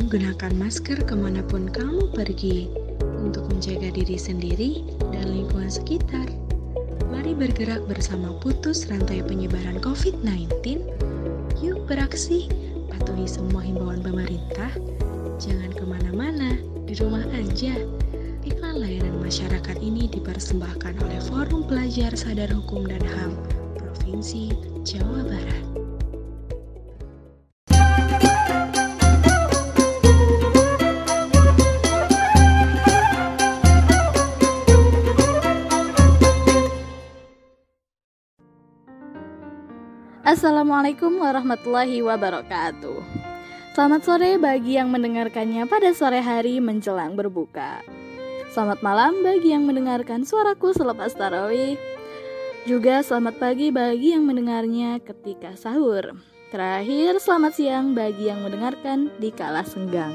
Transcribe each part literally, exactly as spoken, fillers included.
gunakan masker kemanapun kamu pergi untuk menjaga diri sendiri dan lingkungan sekitar. Mari bergerak bersama putus rantai penyebaran covid sembilan belas. Yuk beraksi, patuhi semua himbauan pemerintah. Jangan kemana-mana, di rumah aja. Iklan layanan masyarakat ini dipersembahkan oleh Forum Pelajar Sadar Hukum dan H A M Provinsi Jawa Barat. Assalamualaikum warahmatullahi wabarakatuh. Selamat sore bagi yang mendengarkannya pada sore hari menjelang berbuka. Selamat malam bagi yang mendengarkan suaraku selepas tarawih. Juga selamat pagi bagi yang mendengarnya ketika sahur. Terakhir, selamat siang bagi yang mendengarkan di kala senggang.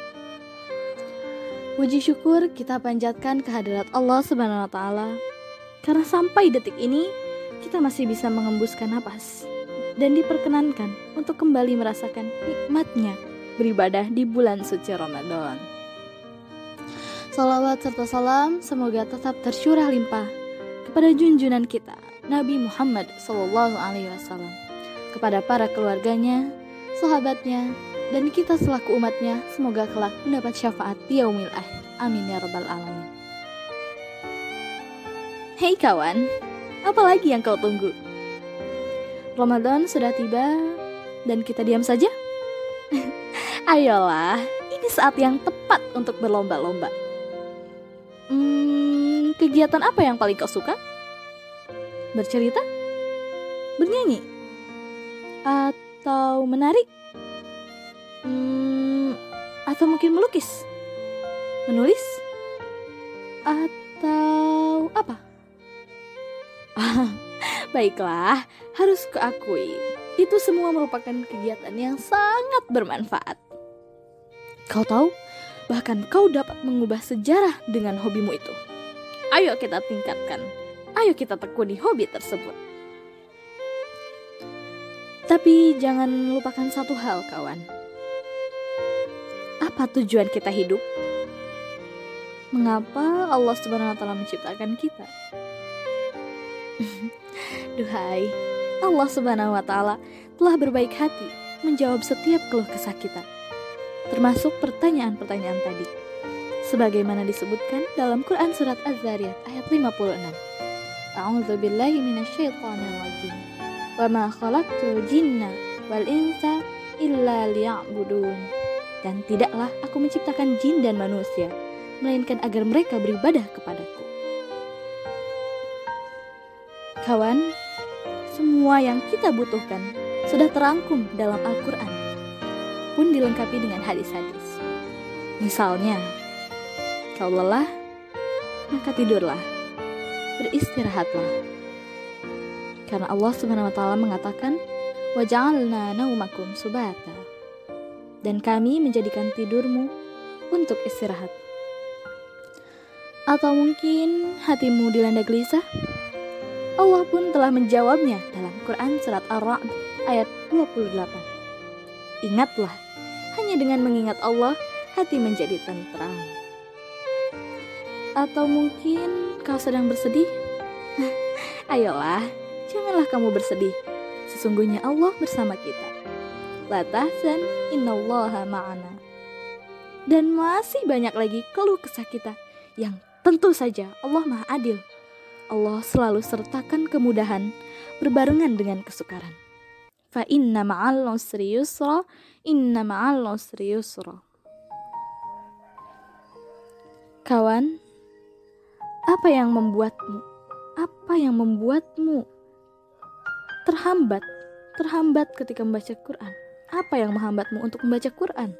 Puji syukur kita panjatkan kehadirat Allah Subhanahu wa taala karena sampai detik ini kita masih bisa mengembuskan napas dan diperkenankan untuk kembali merasakan nikmatnya beribadah di bulan suci Ramadan. Salawat serta salam semoga tetap tercurah limpah kepada junjungan kita Nabi Muhammad Sallallahu Alaihi Wasallam, kepada para keluarganya, sahabatnya, dan kita selaku umatnya. Semoga kelak mendapat syafaat di yaumil akhir. Amin ya rabbal alamin. Hei kawan, apa lagi yang kau tunggu? Ramadan sudah tiba dan kita diam saja? Ayolah, ini saat yang tepat untuk berlomba-lomba. Hmm, kegiatan apa yang paling kau suka? Bercerita? Bernyanyi? Atau menari? Hmm, atau mungkin melukis? Menulis? Atau apa? Baiklah, harus kuakui, itu semua merupakan kegiatan yang sangat bermanfaat. Kau tahu, bahkan kau dapat mengubah sejarah dengan hobimu itu. Ayo kita tingkatkan, ayo kita tekuni hobi tersebut. Tapi jangan lupakan satu hal, kawan. Apa tujuan kita hidup? Mengapa Allah Subhanahu wa taala menciptakan kita? Duhai, Allah Subhanahu wa taala telah berbaik hati menjawab setiap keluh kesah kita, termasuk pertanyaan-pertanyaan tadi. Sebagaimana disebutkan dalam Quran surat Az-Zariyat ayat lima puluh enam. A'udzu billahi minasyaitonir rajim. Wa ma khalaqtul jinna wal insa illa liya'budun. Dan tidaklah aku menciptakan jin dan manusia melainkan agar mereka beribadah kepadaku. Kawan, semua yang kita butuhkan sudah terangkum dalam Al-Quran, pun dilengkapi dengan hadis-hadis. Misalnya, kau lelah, maka tidurlah, beristirahatlah. Karena Allah Subhanahu wa taala mengatakan, "Wa ja'alna naumakum subata." Dan kami menjadikan tidurmu untuk istirahat. Atau mungkin hatimu dilanda gelisah? Allah pun telah menjawabnya dalam Quran surat Ar-Ra'd ayat dua puluh delapan. Ingatlah, hanya dengan mengingat Allah, hati menjadi tentram. Atau mungkin kau sedang bersedih? Ayolah, janganlah kamu bersedih. Sesungguhnya Allah bersama kita. La tahzan, innallaha ma'ana. Dan masih banyak lagi keluh kesah kita yang tentu saja Allah Maha Adil. Allah selalu sertakan kemudahan berbarengan dengan kesukaran. Fa inna ma'al usri yusra, inna ma'al usri yusra. Kawan, apa yang membuatmu, apa yang membuatmu terhambat, terhambat ketika membaca Quran? Apa yang menghambatmu untuk membaca Quran?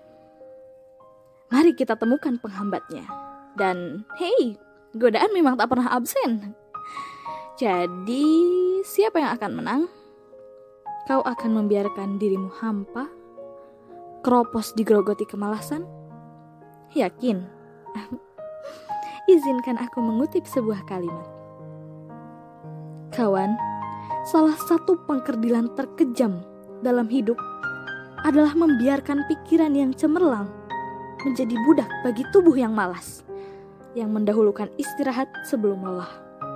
Mari kita temukan penghambatnya. Dan hey, godaan memang tak pernah absen. Jadi, siapa yang akan menang? Kau akan membiarkan dirimu hampa, keropos digerogoti kemalasan? Yakin? Izinkan aku mengutip sebuah kalimat. Kawan, salah satu pengkerdilan terkejam dalam hidup adalah membiarkan pikiran yang cemerlang menjadi budak bagi tubuh yang malas, yang mendahulukan istirahat sebelum lelah.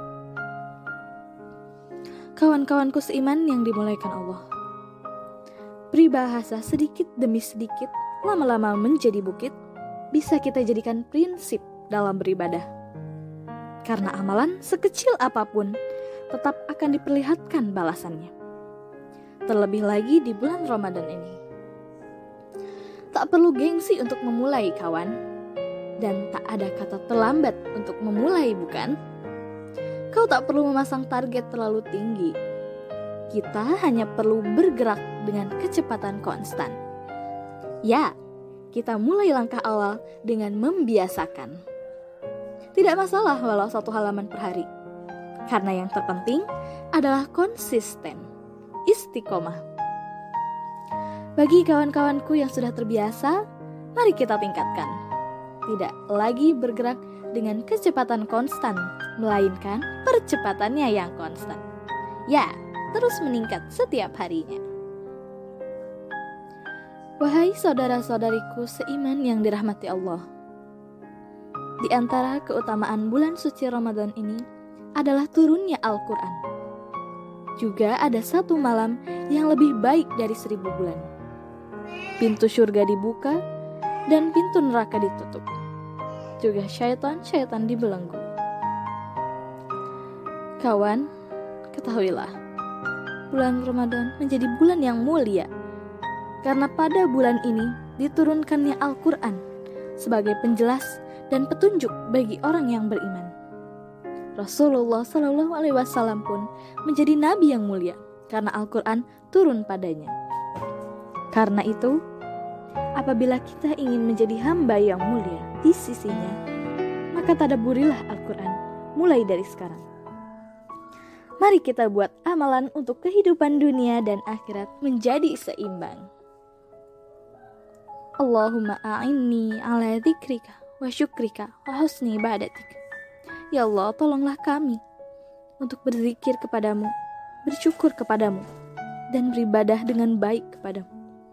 Kawan-kawanku seiman yang dimulaikan Allah, peribahasa sedikit demi sedikit lama-lama menjadi bukit bisa kita jadikan prinsip dalam beribadah. Karena amalan sekecil apapun tetap akan diperlihatkan balasannya. Terlebih lagi di bulan Ramadan ini. Tak perlu gengsi untuk memulai, kawan. Dan tak ada kata terlambat untuk memulai, bukan? Kau tak perlu memasang target terlalu tinggi. Kita hanya perlu bergerak dengan kecepatan konstan. Ya, kita mulai langkah awal dengan membiasakan. Tidak masalah walau satu halaman per hari. Karena yang terpenting adalah konsisten, istiqomah. Bagi kawan-kawanku yang sudah terbiasa, mari kita tingkatkan. Tidak lagi bergerak dengan kecepatan konstan, melainkan percepatannya yang konstan. Ya, terus meningkat setiap harinya. Wahai saudara-saudariku seiman yang dirahmati Allah, di antara keutamaan bulan suci Ramadan ini adalah turunnya Al-Quran. Juga ada satu malam yang lebih baik dari seribu bulan. Pintu surga dibuka dan pintu neraka ditutup. Juga syaitan-syaitan dibelenggu. Kawan, ketahuilah, bulan Ramadan menjadi bulan yang mulia. Karena pada bulan ini diturunkannya Al-Quran sebagai penjelas dan petunjuk bagi orang yang beriman. Rasulullah Shallallahu Alaihi Wasallam pun menjadi nabi yang mulia karena Al-Quran turun padanya. Karena itu, apabila kita ingin menjadi hamba yang mulia di sisinya, maka tadabburilah Al-Quran mulai dari sekarang. Mari kita buat amalan untuk kehidupan dunia dan akhirat menjadi seimbang. Allahumma a'inni ala dzikrika wa syukrika wa husni ibadatik. Ya Allah, tolonglah kami untuk berzikir kepadamu, bersyukur kepadamu, dan beribadah dengan baik kepadamu.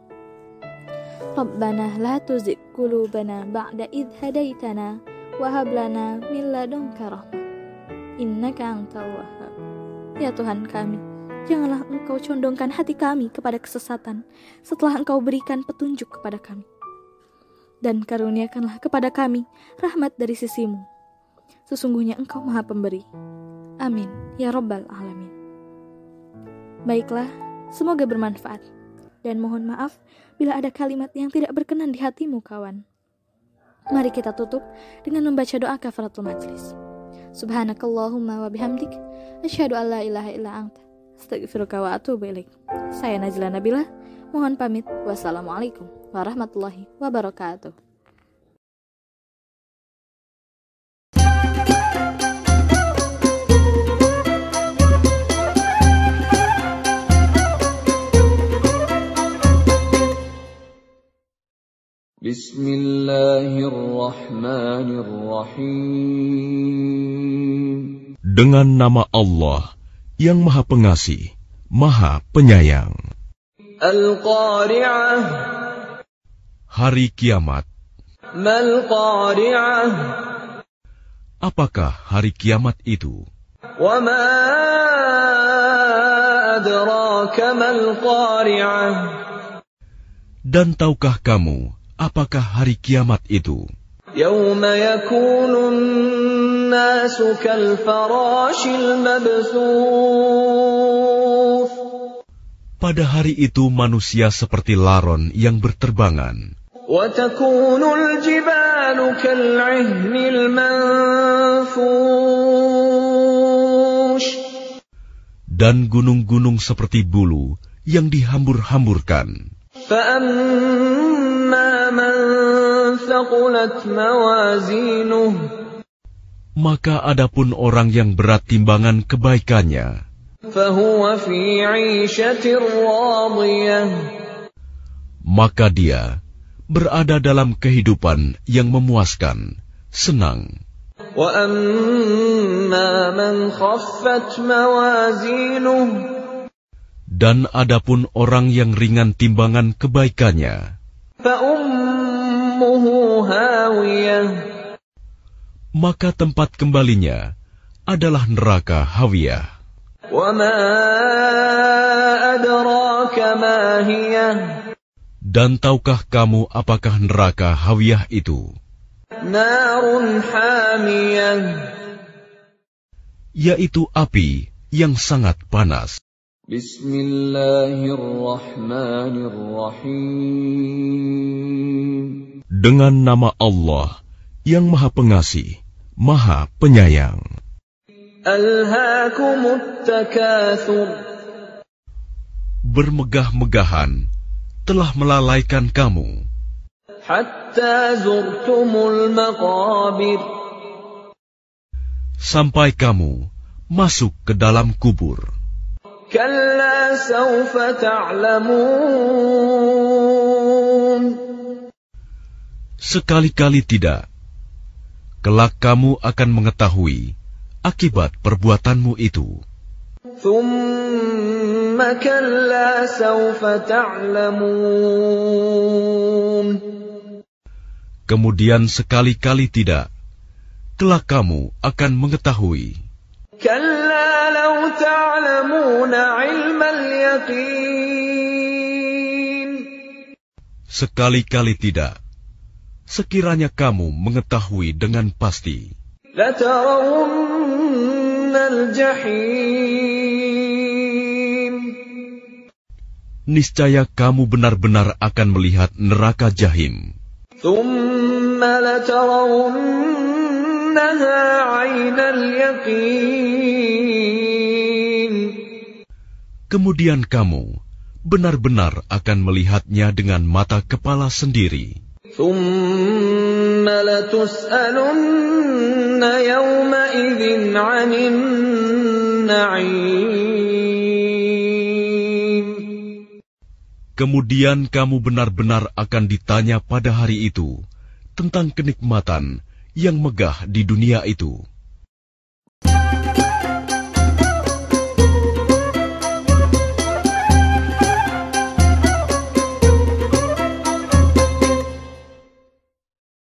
Rabbana la tuzigh qulubana ba'da idh hadaitana wa hab lana min ladunka rahmah innaka antal wahhab. Ya Tuhan kami, janganlah Engkau condongkan hati kami kepada kesesatan setelah Engkau berikan petunjuk kepada kami. Dan karuniakanlah kepada kami rahmat dari sisimu. Sesungguhnya Engkau Maha Pemberi. Amin, ya Rabbal Alamin. Baiklah, semoga bermanfaat. Dan mohon maaf bila ada kalimat yang tidak berkenan di hatimu, kawan. Mari kita tutup dengan membaca doa kafaratul majlis. Subhanakallahumma wa bihamdik, asyhadu an la ilaha illa anta, astaghfiruka wa atubu ilaik. Saya Najla Nabila, mohon pamit. Wassalamualaikum warahmatullahi wabarakatuh. Bismillahirrahmanirrahim. Dengan nama Allah yang Maha Pengasih, Maha Penyayang. Al-Qari'ah. Hari Kiamat. Mal-Qari'ah. Apakah hari kiamat itu? Wa ma adraka mal-Qari'ah. Dan tahukah kamu apakah hari kiamat itu? Yauma yakunun nasu kal farashil mabthuth. Pada hari itu manusia seperti laron yang berterbangan. Wa takunul jibalu kal 'ihnil manfush. Dan gunung-gunung seperti bulu yang dihambur-hamburkan. فَأَمَّا مَنْ ثَقُلَتْ مَوَازِينُهُ. Maka adapun orang yang berat timbangan kebaikannya, فَهُوَ فِي عِيشَةٍ رَاضِيَةٍ. Maka dia berada dalam kehidupan yang memuaskan, senang. وَأَمَّا مَنْ خَفَّتْ مَوَازِينُهُ. Dan adapun orang yang ringan timbangan kebaikannya, فأمه هاوية maka tempat kembalinya adalah neraka Hawiyah. وما أدراك ما هي Dan tahukah kamu apakah neraka Hawiyah itu? نار حامية Yaitu api yang sangat panas. بسم الله الرحمن الرحيم Dengan nama Allah yang Maha Pengasih, Maha Penyayang. ألهاكم التكاثر Bermegah-megahan telah melalaikan kamu حتى زرتم المقابر sampai kamu masuk ke dalam kubur. كلا سوف تعلمون Sekali-kali tidak. Kelak kamu akan mengetahui akibat perbuatanmu itu. ثم كلا سوف تعلمون Kemudian sekali-kali tidak. Kelak kamu akan mengetahui. كلا لو تعلمون علم اليقين Sekali-kali tidak. Sekiranya kamu mengetahui dengan pasti, لترون الجحيم niscaya kamu benar-benar akan melihat neraka Jahim. ثم لترونها عين اليقين Kemudian kamu benar-benar akan melihatnya dengan mata kepala sendiri. ثم لتسألن يومئذ عن النعيم Kemudian kamu benar-benar akan ditanya pada hari itu tentang kenikmatan yang megah di dunia itu.